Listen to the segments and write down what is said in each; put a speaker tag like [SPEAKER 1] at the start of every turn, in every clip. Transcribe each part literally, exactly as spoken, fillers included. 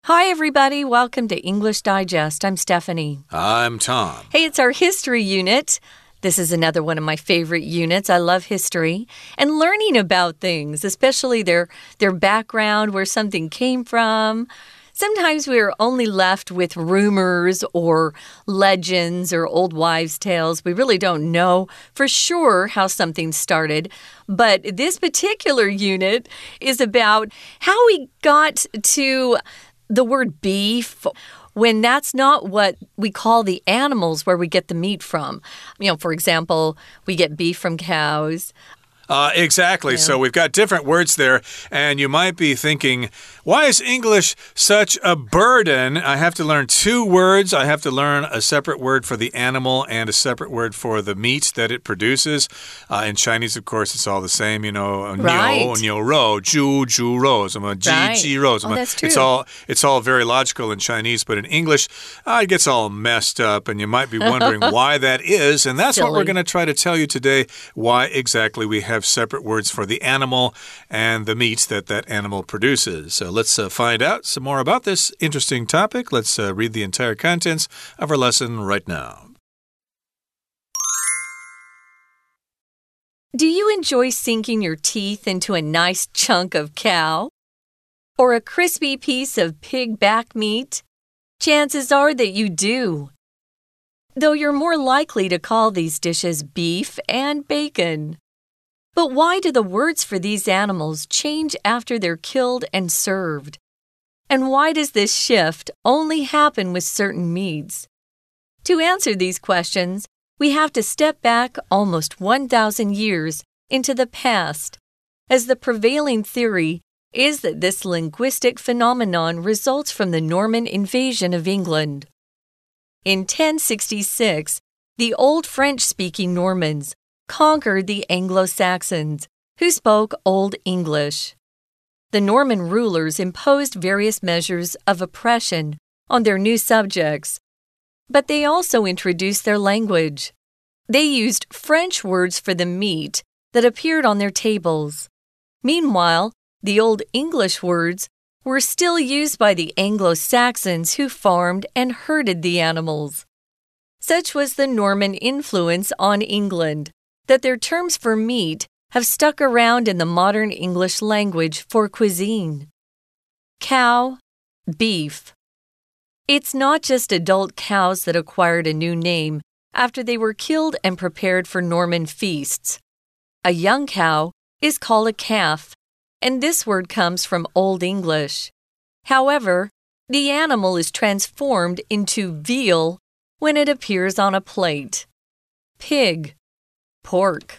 [SPEAKER 1] Hi, everybody. Welcome to English Digest. I'm Stephanie.
[SPEAKER 2] I'm Tom.
[SPEAKER 1] Hey, it's our history unit. This is another one of my favorite units. I love history and learning about things, especially their, their background, where something came from. Sometimes we are only left with rumors or legends or old wives' tales. We really don't know for sure how something started. But this particular unit is about how we got to the word beef when that's not what we call the animals where we get the meat from. You know, for example, we get beef from cows.
[SPEAKER 2] Uh, exactly. Yeah. So we've got different words there, and you might be thinking, why is English such a burden? I have to learn two words. I have to learn a separate word for the animal and a separate word for the meat that it produces. Uh, in Chinese, of course, it's all the same. You know,
[SPEAKER 1] right.
[SPEAKER 2] 牛,牛肉,猪,猪肉,什麼鸡,鸡肉,什麼.
[SPEAKER 1] Oh, that's true.
[SPEAKER 2] It's all, it's all very logical in Chinese, but in English, uh, it gets all messed up, and you might be wondering why that is. And that's
[SPEAKER 1] Silly.
[SPEAKER 2] what we're going to try to tell you today, why exactly we have separate words for the animal and the meat that that animal produces. So let's uh, find out some more about this interesting topic. Let's uh, read the entire contents of our lesson right now.
[SPEAKER 1] Do you enjoy sinking your teeth into a nice chunk of cow? Or a crispy piece of pig back meat? Chances are that you do. Though you're more likely to call these dishes beef and bacon. But why do the words for these animals change after they're killed and served? And why does this shift only happen with certain meats? To answer these questions, we have to step back almost one thousand years into the past, as the prevailing theory is that this linguistic phenomenon results from the Norman invasion of England. In ten sixty-six, the old French-speaking Normans conquered the Anglo-Saxons, who spoke Old English. The Norman rulers imposed various measures of oppression on their new subjects, but they also introduced their language. They used French words for the meat that appeared on their tables. Meanwhile, the Old English words were still used by the Anglo-Saxons who farmed and herded the animals. Such was the Norman influence on England that their terms for meat have stuck around in the modern English language for cuisine. Cow, beef. It's not just adult cows that acquired a new name after they were killed and prepared for Norman feasts. A young cow is called a calf, and this word comes from Old English. However, the animal is transformed into veal when it appears on a plate. Pig. Pork.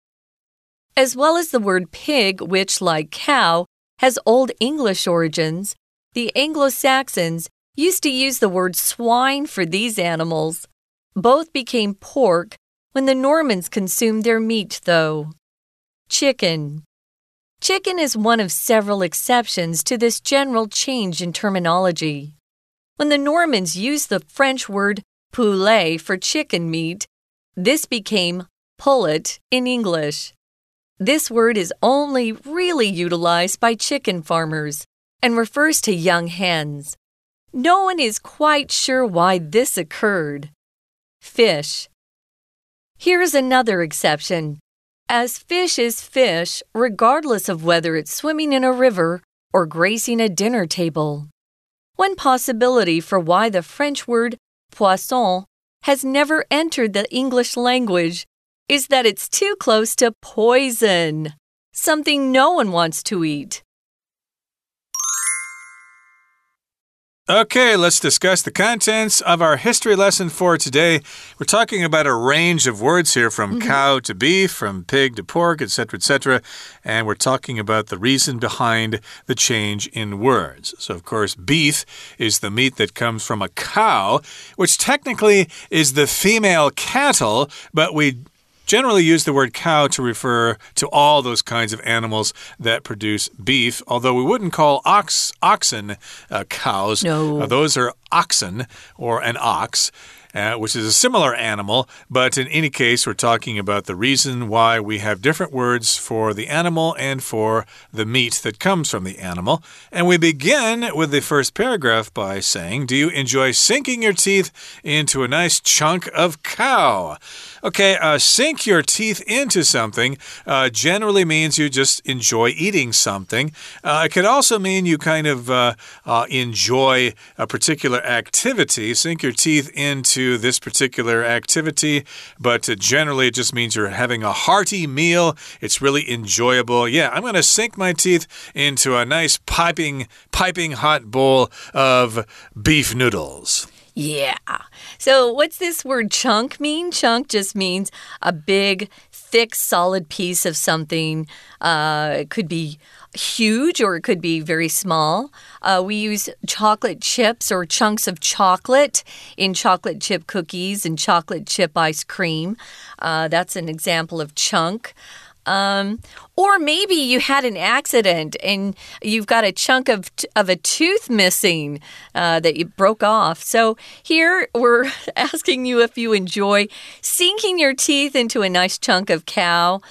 [SPEAKER 1] As well as the word pig, which, like cow, has Old English origins, the Anglo-Saxons used to use the word swine for these animals. Both became pork when the Normans consumed their meat, though. Chicken. Chicken is one of several exceptions to this general change in terminology. When the Normans used the French word poulet for chicken meat, this became pullet in English. This word is only really utilized by chicken farmers and refers to young hens. No one is quite sure why this occurred. Fish. Here's another exception, as fish is fish regardless of whether it's swimming in a river or gracing a dinner table. One possibility for why the French word poisson has never entered the English language is that it's too close to poison, something no one wants to eat.
[SPEAKER 2] Okay, let's discuss the contents of our history lesson for today. We're talking about a range of words here from mm-hmm. cow to beef, from pig to pork, et cetera, et cetera. And we're talking about the reason behind the change in words. So, of course, beef is the meat that comes from a cow, which technically is the female cattle, but we generally use the word cow to refer to all those kinds of animals that produce beef, although we wouldn't call ox, oxen uh, cows.
[SPEAKER 1] No.
[SPEAKER 2] Uh, those are oxen or an ox. uh, which is a similar animal, but in any case, we're talking about the reason why we have different words for the animal and for the meat that comes from the animal. And we begin with the first paragraph by saying, do you enjoy sinking your teeth into a nice chunk of cow? Okay, uh, sink your teeth into something uh, generally means you just enjoy eating something. Uh, it could also mean you kind of uh, uh, enjoy a particular activity. Sink your teeth into this particular activity, but uh, generally it just means you're having a hearty meal. It's really enjoyable. Yeah, I'm going to sink my teeth into a nice piping, piping hot bowl of beef noodles.
[SPEAKER 1] Yeah. So what's this word chunk mean? Chunk just means a big, thick, solid piece of something. Uh, it could be huge or it could be very small. Uh, we use chocolate chips or chunks of chocolate in chocolate chip cookies and chocolate chip ice cream. Uh, that's an example of chunk. Um, or maybe you had an accident and you've got a chunk of, of a tooth missing uh, that you broke off. So here we're asking you if you enjoy sinking your teeth into a nice chunk of cow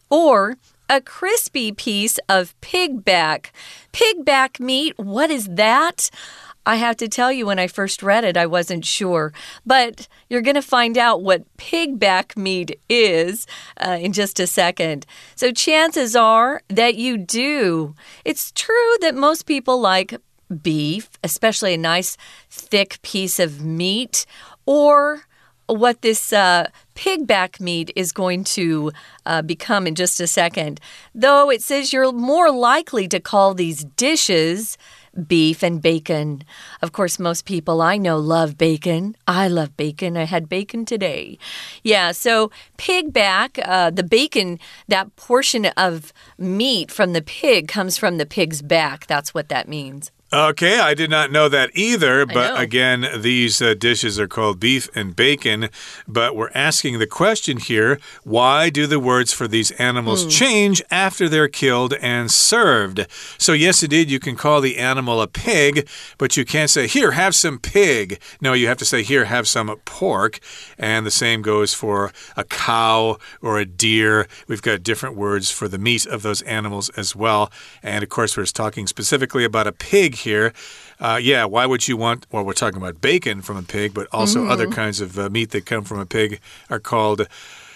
[SPEAKER 1] or a crispy piece of pig back. Pig back meat, what is that? I have to tell you, when I first read it, I wasn't sure. But you're going to find out what pig back meat is uh, in just a second. So chances are that you do. It's true that most people like beef, especially a nice thick piece of meat, or what this uh, pig back meat is going to uh, become in just a second. Though it says you're more likely to call these dishes beef and bacon. Of course, most people I know love bacon. I love bacon. I had bacon today. Yeah, so pig back, uh, the bacon, that portion of meat from the pig comes from the pig's back. That's what that means.
[SPEAKER 2] Okay, I did not know that either, but again, these uh, dishes are called beef and bacon, but we're asking the question here, why do the words for these animals mm. change after they're killed and served? So yes, indeed, you can call the animal a pig, but you can't say, here, have some pig. No, you have to say, here, have some pork, and the same goes for a cow or a deer. We've got different words for the meat of those animals as well, and of course, we're talking specifically about a pig here. Uh, yeah, why would you want, well, we're talking about bacon from a pig, but also mm-hmm. other kinds of uh, meat that come from a pig are called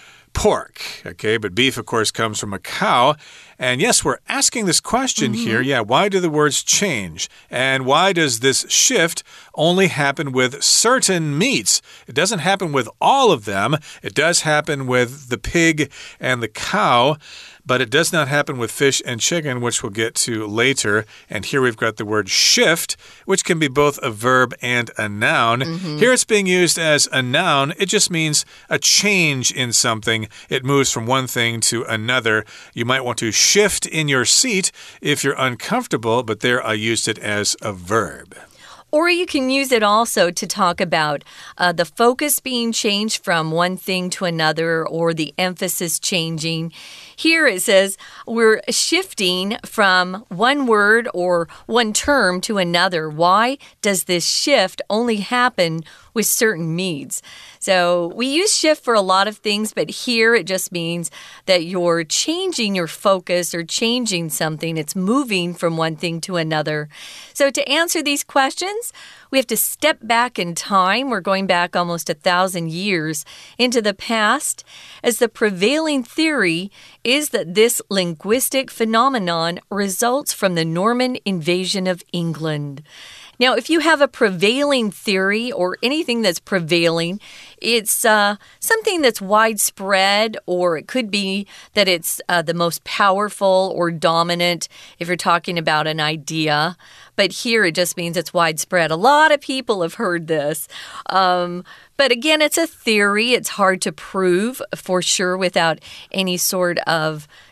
[SPEAKER 2] pork. Okay, but beef, of course, comes from a cow. And yes, we're asking this question mm-hmm. here. Yeah, why do the words change? And why does this shift only happen with certain meats? It doesn't happen with all of them. It does happen with the pig and the cow. But it does not happen with fish and chicken, which we'll get to later. And here we've got the word shift, which can be both a verb and a noun. Mm-hmm. Here it's being used as a noun. It just means a change in something. It moves from one thing to another. You might want to shift in your seat if you're uncomfortable, but there I used it as a verb.
[SPEAKER 1] Or you can use it also to talk about uh, the focus being changed from one thing to another or the emphasis changing. Here it says we're shifting from one word or one term to another. Why does this shift only happen with certain meats? So we use shift for a lot of things, but here it just means that you're changing your focus or changing something. It's moving from one thing to another. So to answer these questions, we have to step back in time. We're going back almost a thousand years into the past, as the prevailing theory is that this linguistic phenomenon results from the Norman invasion of England. Now, if you have a prevailing theory or anything that's prevailing, it's uh, something that's widespread, or it could be that it's uh, the most powerful or dominant if you're talking about an idea. But here it just means it's widespread. A lot of people have heard this. Um, but again, it's a theory. It's hard to prove for sure without any sort of,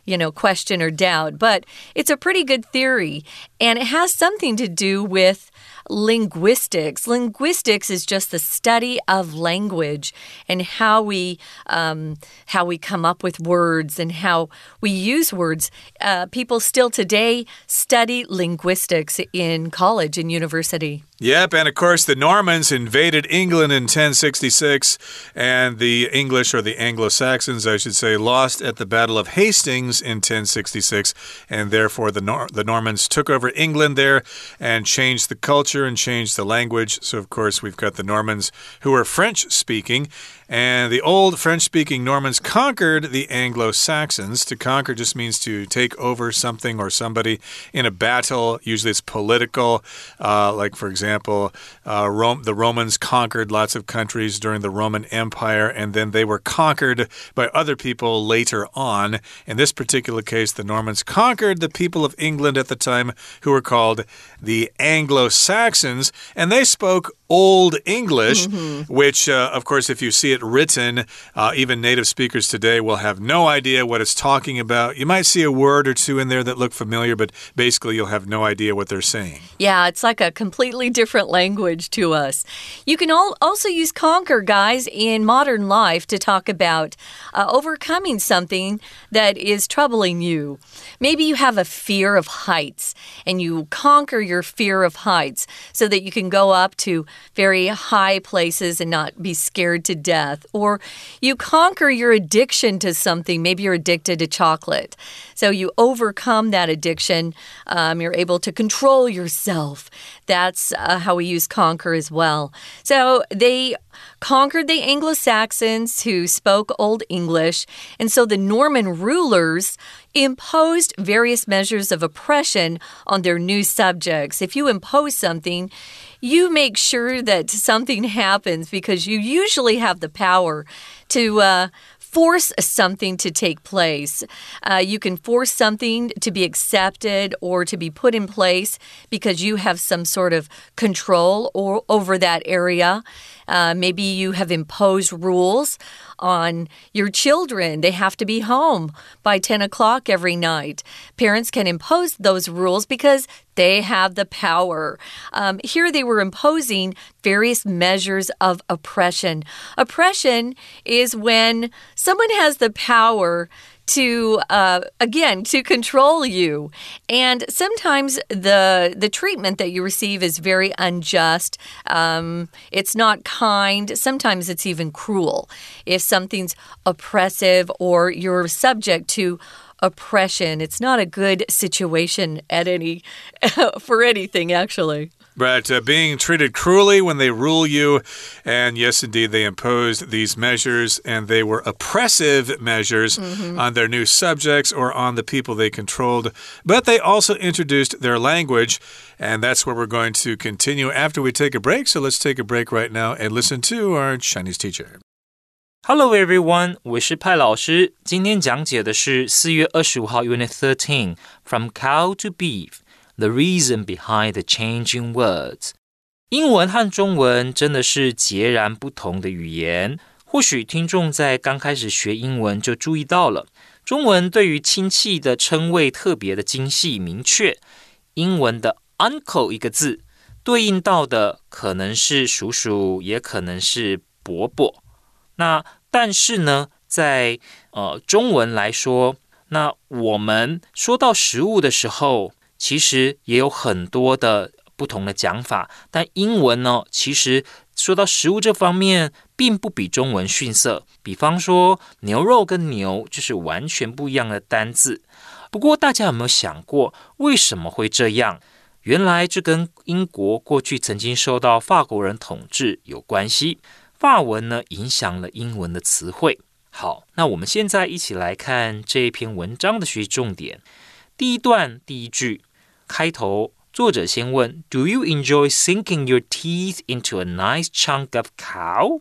[SPEAKER 1] you know, question or doubt. But it's a pretty good theory, and it has something to do with linguistics. Linguistics is just the study of language and how we um, how we come up with words and how we use words. Uh, people still today study linguistics in college and university.
[SPEAKER 2] Yep, and of course the Normans invaded England in ten sixty-six, and the English, or the Anglo-Saxons, I should say, lost at the Battle of Hastings in ten sixty-six, and therefore the, Nor the Normans took over England there and changed the culture and changed the language. So, of course, we've got the Normans who are French-speaking, and the old French-speaking Normans conquered the Anglo-Saxons. To conquer just means to take over something or somebody in a battle. Usually it's political, uh, like, for example, example, uh, Rome, the Romans conquered lots of countries during the Roman Empire, and then they were conquered by other people later on. In this particular case, the Normans conquered the people of England at the time, who were called the Anglo-Saxons, and they spoke Old English, mm-hmm. which, uh, of course, if you see it written, uh, even native speakers today will have no idea what it's talking about. You might see a word or two in there that look familiar, but basically you'll have no idea what they're saying.
[SPEAKER 1] Yeah, it's like a completely different language to us. You can all also use conquer, guys, in modern life to talk about uh, overcoming something that is troubling you. Maybe you have a fear of heights, and you conquer your fear of heights so that you can go up to very high places and not be scared to death. Or you conquer your addiction to something. Maybe you're addicted to chocolate. So you overcome that addiction. Um, you're able to control yourself. That's uh, how we use conquer as well. So they conquered the Anglo-Saxons who spoke Old English, and so the Norman rulers imposed various measures of oppression on their new subjects. If you impose something, you make sure that something happens because you usually have the power to uh, force something to take place. Uh, you can force something to be accepted or to be put in place because you have some sort of control or over that area. Uh, maybe you have imposed rules on your children. They have to be home by ten o'clock every night. Parents can impose those rules because they have the power. Um, here they were imposing various measures of oppression. Oppression is when someone has the power to, uh, again, to control you. And sometimes the, the treatment that you receive is very unjust. Um, it's not kind. Sometimes it's even cruel. If something's oppressive or you're subject to oppression, it's not a good situation at any, for anything, actually.
[SPEAKER 2] But uh, being treated cruelly when they rule you, and yes, indeed, they imposed these measures, and they were oppressive measures mm-hmm. on their new subjects or on the people they controlled. But they also introduced their language, and that's where we're going to continue after we take a break. So let's take a break right now and listen to our Chinese teacher.
[SPEAKER 3] Hello everyone, 我是派老師。今天講解的是四月二十五號 Unit thirteen, From Cow to Beef.The reason behind the changing words. 英文和中文真的是截然不同的語言。或許聽眾在剛開始學英文就注意到了，中文對於親戚的稱謂特別的精細明確。英文的 uncle 一個字，對應到的可能是叔叔，也可能是伯伯。那但是呢，在呃中文來說，那我們說到食物的時候，其實也有很多的不同的講法，但英文呢，其實說到食物這方面，並不比中文遜色。比方說，牛肉跟牛就是完全不一樣的單字。不過，大家有沒有想過，為什麼會這樣？原來這跟英國過去曾經受到法國人統治有關係。法文呢，影響了英文的詞彙。好，那我們現在一起來看這一篇文章的學習重點。第一段第一句。開頭，作者先問 Do you enjoy sinking your teeth into a nice chunk of cow?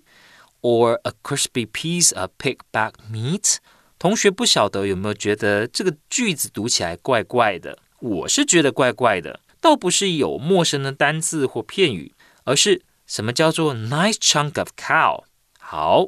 [SPEAKER 3] Or a crispy piece of pig back meat? 同學不曉得有沒有覺得這個句子讀起來怪怪的？我是覺得怪怪的，倒不是有陌生的單字或片語，而是什麼叫做 nice chunk of cow? 好，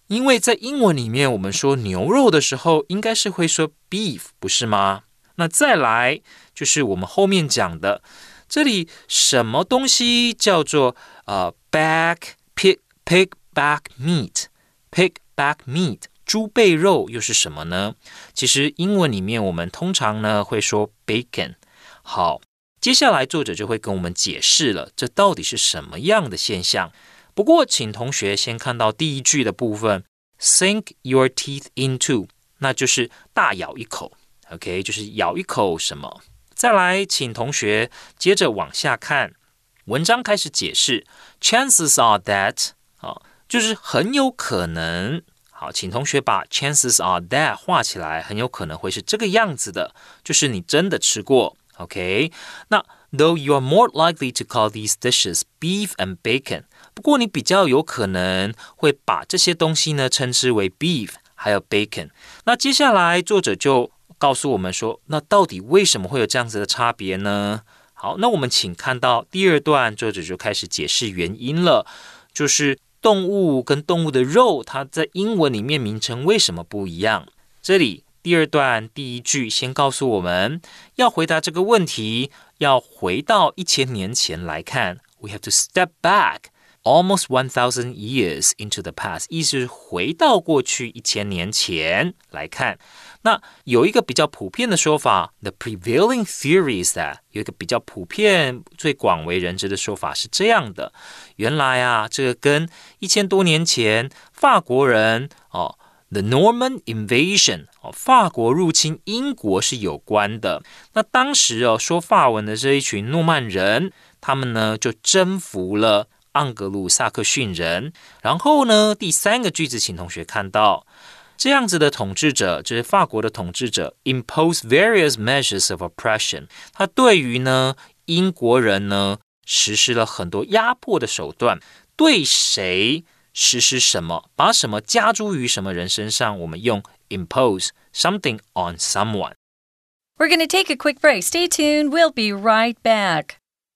[SPEAKER 3] 因為在英文裡面，我們說牛肉的時候，應該是會說 beef， 不是嗎？那再來就是我們後面講的，這裡什麼東西叫做呃 back pig pig back meat pig back meat 豬背肉又是什麼呢？其實英文裡面我們通常呢會說 bacon。好，接下來作者就會跟我們解釋了，這到底是什麼樣的現象。不過，請同學先看到第一句的部分 ，sink your teeth into， 那就是大咬一口 ，OK， 就是咬一口什麼。再來，請同學接着往下看，文章開始解釋 ，chances are that， 好，就是很有可能。好，請同學把 chances are that 畫起來，很有可能會是這個樣子的，就是你真的吃過 ，OK？ 那 though you are more likely to call these dishes beef and bacon， 不過你比較有可能會把這些東西呢稱之為 beef 還有 bacon。那接下來作者就告訴我們說，那到底為什麼會有這樣子的差別呢？好，那我們請看到第二段，作者就開始解釋原因了，就是動物跟動物的肉，它在英文裡面名稱為什麼不一樣？這裡第二段第一句先告訴我們，要回答這個問題，要回到一千年前來看。We have to step back almost one thousand years into the past， 意思是回到過去一千年前來看。那有一個比較普遍的說法 ，the prevailing theory is that 有一個比較普遍、最廣為人知的說法是這樣的：原來啊，這個跟一千多年前法國人哦 ，the Norman invasion 哦，法國入侵英國是有關的。那當時哦，說法文的這一群諾曼人，他們呢就征服了盎格魯撒克遜人。然後呢，第三個句子，請同學看到。這樣子的統治者，就是法國的統治者 impose various measures of oppression， 他對於呢英國人呢實施了很多壓迫的手段。對誰實施什麼，把什麼加諸於什麼人身上，我們用 impose something on someone。
[SPEAKER 1] We're going to take a quick break. Stay tuned. We'll be right back.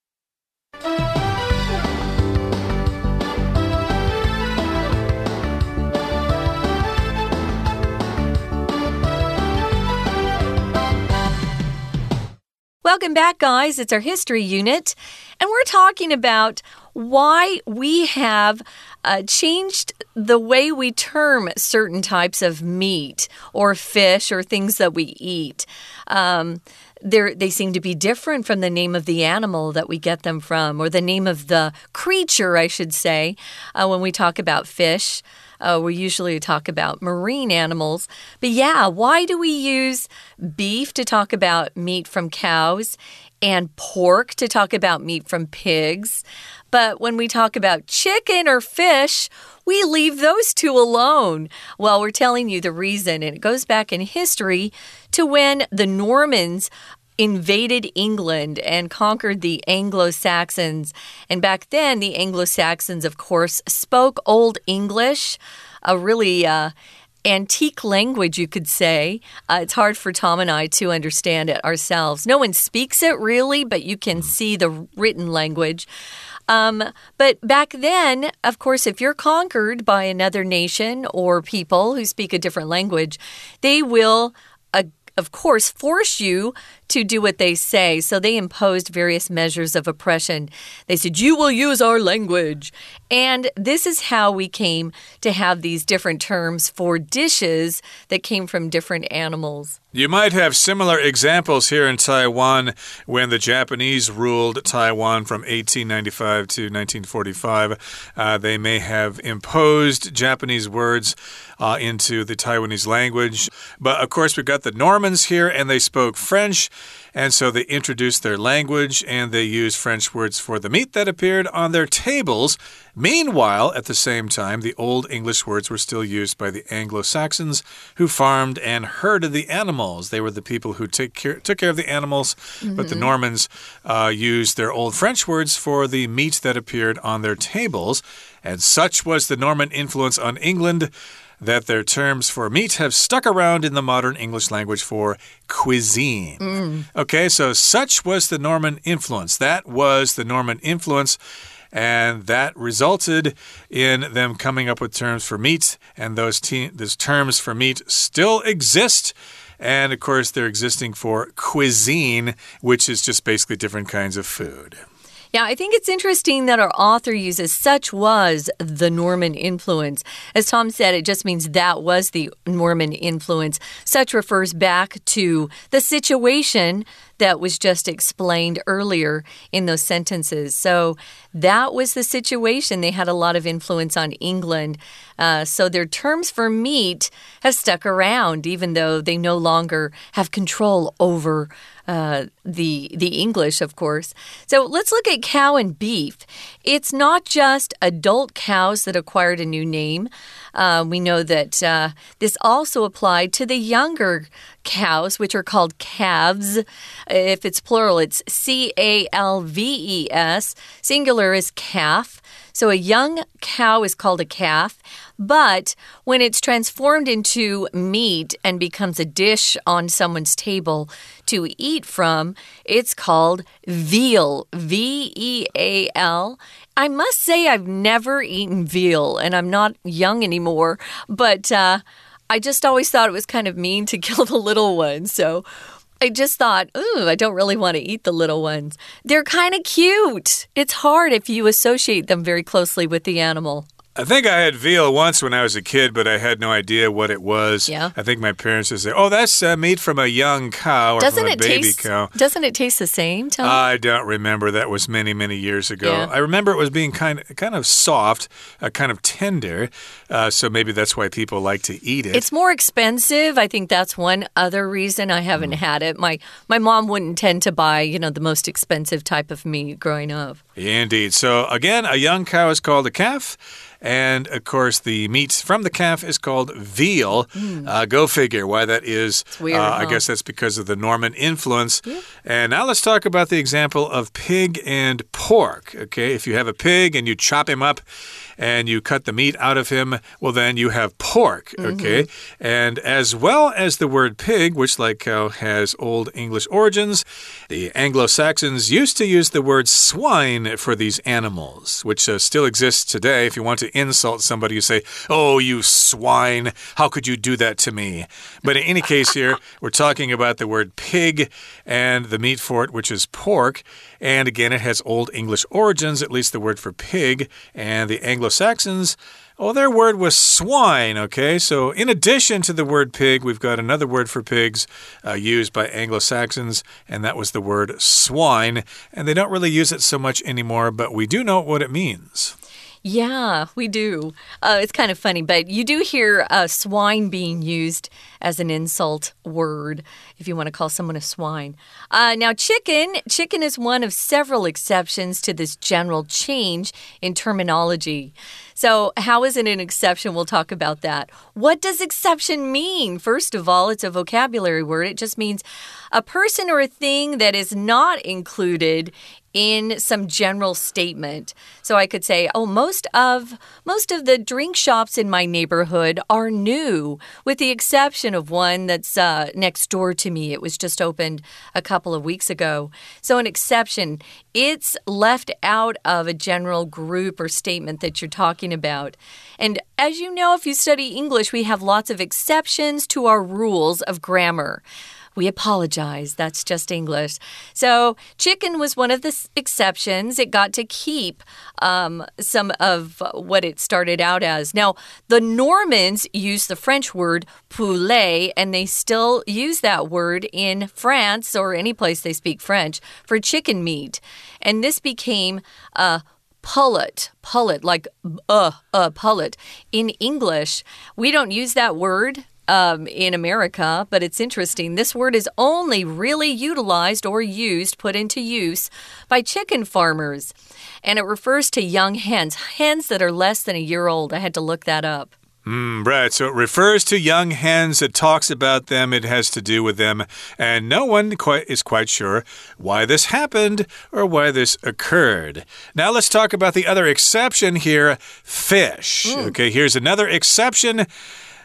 [SPEAKER 1] Welcome back, guys. It's our history unit, and we're talking about why we have uh, changed the way we term certain types of meat or fish or things that we eat. Um, they seem to be different from the name of the animal that we get them from, or the name of the creature, I should say, uh, when we talk about fish. Uh, we usually talk about marine animals. But yeah, why do we use beef to talk about meat from cows and pork to talk about meat from pigs? But when we talk about chicken or fish, we leave those two alone. Well, we're telling you the reason, and it goes back in history to when the Normans invaded England and conquered the Anglo-Saxons. And back then, the Anglo-Saxons, of course, spoke Old English, a really uh, antique language, you could say. Uh, it's hard for Tom and I to understand it ourselves. No one speaks it, really, but you can see the written language. Um, but back then, of course, if you're conquered by another nation or people who speak a different language, they will uh, of course, force you to do what they say. So they imposed various measures of oppression. They said, you will use our language. And this is how we came to have these different terms for dishes that came from different animals.
[SPEAKER 2] You might have similar examples here in Taiwan when the Japanese ruled Taiwan from eighteen ninety-five to nineteen forty-five. Uh, they may have imposed Japanese words uh, into the Taiwanese language. But, of course, we've got the Normans here, and they spoke French. And so they introduced their language, and they used French words for the meat that appeared on their tables. Meanwhile, at the same time, the Old English words were still used by the Anglo-Saxons, who farmed and herded the animals. They were the people who take care, took care of the animals, mm-hmm. but the Normans uh, used their Old French words for the meat that appeared on their tables. And such was the Norman influence on England that their terms for meat have stuck around in the modern English language for cuisine. Mm. Okay, so such was the Norman influence. That was the Norman influence. And that resulted in them coming up with terms for meat, and those, te those terms for meat still exist. And, of course, they're existing for cuisine, which is just basically different kinds of food.
[SPEAKER 1] Yeah, I think it's interesting that our author uses such was the Norman influence. As Tom said, it just means that was the Norman influence. Such refers back to the situation that was just explained earlier in those sentences. So that was the situation. They had a lot of influence on England. Uh, so their terms for meat have stuck around, even though they no longer have control over Uh, the the English, of course. So let's look at cow and beef. It's not just adult cows that acquired a new name. Uh, we know that uh, this also applied to the younger cows, which are called calves. If it's plural, it's C A L V E S. Singular is calf. So a young cow is called a calf. But when it's transformed into meat and becomes a dish on someone's table to eat from, it's called veal, V E A L. I must say I've never eaten veal, and I'm not young anymore, but uh, I just always thought it was kind of mean to kill the little ones, so I just thought, ooh, I don't really want to eat the little ones. They're kind of cute. It's hard if you associate them very closely with the animal.
[SPEAKER 2] I think I had veal once when I was a kid, but I had no idea what it was.
[SPEAKER 1] Yeah.
[SPEAKER 2] I think my parents would say, oh, that's uh, meat from a young cow or
[SPEAKER 1] doesn't
[SPEAKER 2] from a
[SPEAKER 1] it
[SPEAKER 2] baby
[SPEAKER 1] taste,
[SPEAKER 2] cow.
[SPEAKER 1] Doesn't it taste the same, Tom?
[SPEAKER 2] I don't remember. That was many, many years ago.
[SPEAKER 1] Yeah.
[SPEAKER 2] I remember it was being kind of, kind of soft, uh, kind of tender, uh, so maybe that's why people like to eat it.
[SPEAKER 1] It's more expensive. I think that's one other reason I haven't mm. had it. My, my mom wouldn't tend to buy, you know, the most expensive type of meat growing up.
[SPEAKER 2] Indeed. So, again, a young cow is called a calf. And, of course, the meat from the calf is called veal. Mm. Uh, go figure why that is.
[SPEAKER 1] It's weird,
[SPEAKER 2] uh,
[SPEAKER 1] huh?
[SPEAKER 2] I guess that's because of the Norman influence.
[SPEAKER 1] Yeah.
[SPEAKER 2] And now let's talk about the example of pig and pork. Okay, if you have a pig and you chop him up and you cut the meat out of him, well, then you have pork, okay? Mm-hmm. And as well as the word pig, which, like cow, has Old English origins, the Anglo-Saxons used to use the word swine for these animals, which uh, still exists today. If you want to insult somebody, you say, oh, you swine, how could you do that to me? But in any case here, we're talking about the word pig and the meat for it, which is pork. And again, it has Old English origins, at least the word for pig. And the Anglo-Saxons, oh, their word was swine, okay? So in addition to the word pig, we've got another word for pigs uh, used by Anglo-Saxons, and that was the word swine. And they don't really use it so much anymore, but we do know what it means.
[SPEAKER 1] Yeah, we do. Uh, it's kind of funny, but you do hear uh, swine being used as an insult word, if you want to call someone a swine. Uh, now, chicken. Chicken is one of several exceptions to this general change in terminology. So how is it an exception? We'll talk about that. What does exception mean? First of all, it's a vocabulary word. It just means a person or a thing that is not included in some general statement. So I could say, oh, most of most of the drink shops in my neighborhood are new, with the exception of one that's uh, next door to me. It was just opened a couple of weeks ago. So an exception, it's left out of a general group or statement that you're talking about. And as you know, if you study English, we have lots of exceptions to our rules of grammar. We apologize. That's just English. So chicken was one of the exceptions. It got to keep um, some of what it started out as. Now, the Normans used the French word poulet, and they still use that word in France or any place they speak French for chicken meat. And this became a uh, pullet, pullet, like uh, uh, pullet. In English, we don't use that word Um, in America, but it's interesting. This word is only really utilized or used, put into use by chicken farmers. And it refers to young hens, hens that are less than a year old. I had to look that up.
[SPEAKER 2] Mm, right, so it refers to young hens. It talks about them. It has to do with them. And no one quite is quite sure why this happened or why this occurred. Now let's talk about the other exception here, fish. Mm. Okay, here's another exception.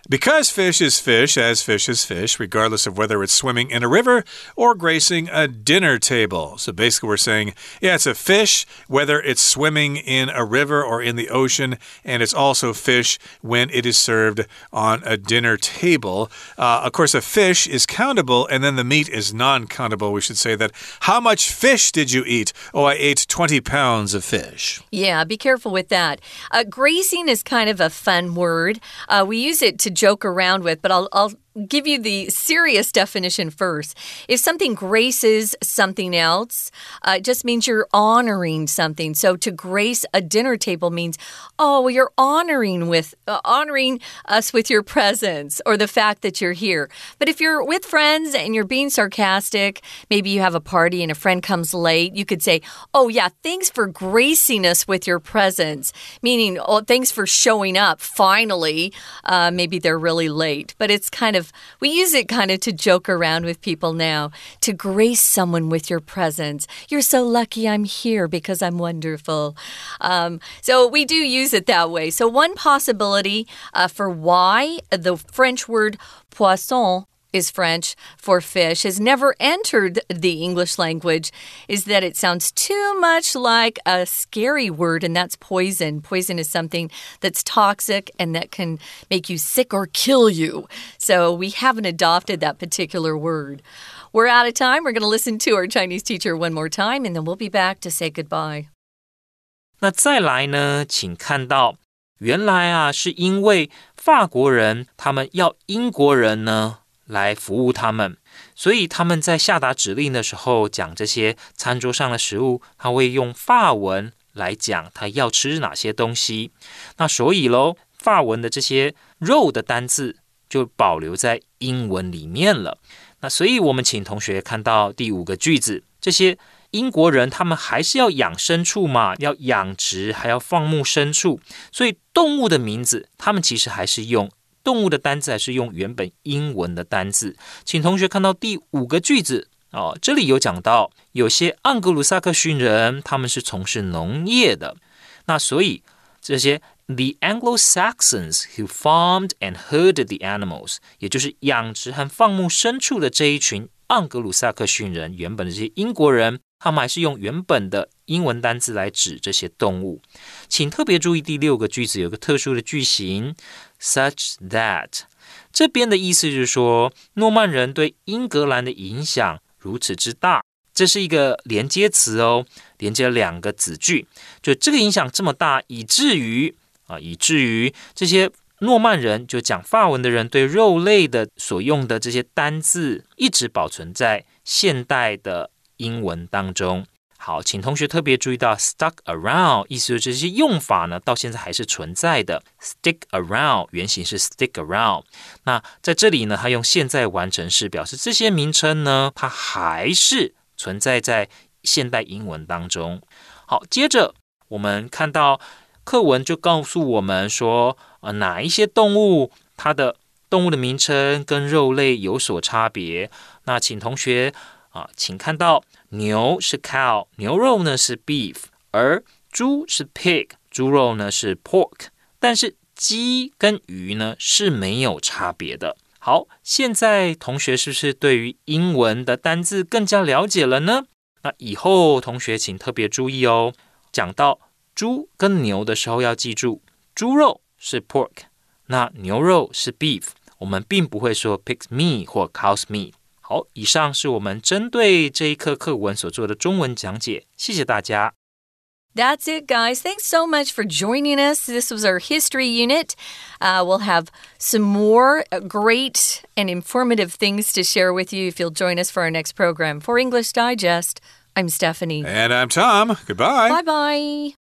[SPEAKER 2] Because fish is fish, as fish is fish, regardless of whether it's swimming in a river or gracing a dinner table. So basically we're saying, yeah, it's a fish, whether it's swimming in a river or in the ocean, and it's also fish when it is served on a dinner table. Uh, of course, a fish is countable, and then the meat is non-countable. We should say that. How much fish did you eat? Oh, I ate twenty pounds of fish.
[SPEAKER 1] Yeah, be careful with that. Uh, gracing is kind of a fun word. Uh, we use it to joke around with, but I'll, I'll give you the serious definition first. If something graces something else, uh, it just means you're honoring something. So to grace a dinner table means, oh, well, you're honoring with uh, honoring us with your presence or the fact that you're here. But if you're with friends and you're being sarcastic, maybe you have a party and a friend comes late, you could say, oh, yeah, thanks for gracing us with your presence, meaning, oh, thanks for showing up. Finally, uh, maybe they're really late, but it's kind of we use it kind of to joke around with people now, to grace someone with your presence. You're so lucky I'm here because I'm wonderful. Um, so we do use it that way. So one possibility uh, for why the French word poisson is French for fish, has never entered the English language, is that it sounds too much like a scary word, and that's poison. Poison is something that's toxic and that can make you sick or kill you. So we haven't adopted that particular word. We're out of time. We're going to listen to our Chinese teacher one more time, and then we'll be back to say goodbye.
[SPEAKER 3] 那再来呢，請看到原來啊，是因為法國人他們要英國人呢來服務他們，所以他們在下達指令的時候講這些餐桌上的食物，他會用法文來講他要吃哪些東西。那所以咯，法文的這些肉的單字就保留在英文裡面了。那所以我們請同學看到第五個句子，這些英國人他們還是要養牲畜嘛，要養殖，還要放牧牲畜，所以動物的名字他們其實還是用動物的單字還是用原本英文的單字。請同學看到第五個句子哦，這裡有講到有些盎格魯撒克遜人他們是從事農業的，那所以這些 The Anglo-Saxons who farmed and herded the animals， 也就是養殖和放牧牲畜的這一群盎格魯撒克遜人，原本的這些英國人，他們還是用原本的英文單字來指這些動物。請特別注意第六個句子有個特殊的句型 such that， 這邊的意思就是說諾曼人對英格蘭的影響如此之大，這是一個連接詞哦，連接兩個子句，就這個影響這麼大，以至於啊，以至於這些諾曼人就講法文的人對肉類的所用的這些單字一直保存在現代的英文當中。好，請同學特別注意到 stuck around， 意思就是這些用法呢到現在還是存在的。stick around 原型是 stick around， 那在這裡呢它用現在完成式表示這些名稱呢它還是存在在現代英文當中。好，接着我們看到課文就告訴我們說，呃，哪一些動物它的動物的名稱跟肉類有所差別。那請同學啊，請看到牛是 cow， 牛肉呢是 beef， 而豬是 pig， 豬肉呢是 pork， 但是雞跟魚呢是沒有差別的。好，現在同學是不是對於英文的單字更加了解了呢？那以後同學請特別注意哦，講到豬跟牛的時候要記住，豬肉是 pork， 那牛肉是 beef， 我們並不會說 pig's meat 或 cow's meat。好，以上是我們針對這一課課文所做的中文講解，謝謝大家。
[SPEAKER 1] That's it, guys. Thanks so much for joining us. This was our history unit. Uh, we'll have some more great and informative things to share with you if you'll join us for our next program. For English Digest, I'm Stephanie.
[SPEAKER 2] And I'm Tom. Goodbye.
[SPEAKER 1] Bye-bye.